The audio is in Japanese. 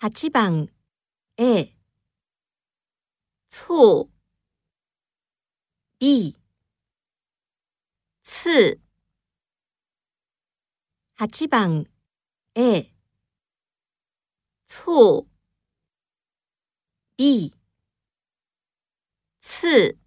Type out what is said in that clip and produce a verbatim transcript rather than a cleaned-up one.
はちばん A、 醋 B、 刺。はちばん A、 醋 B、 刺。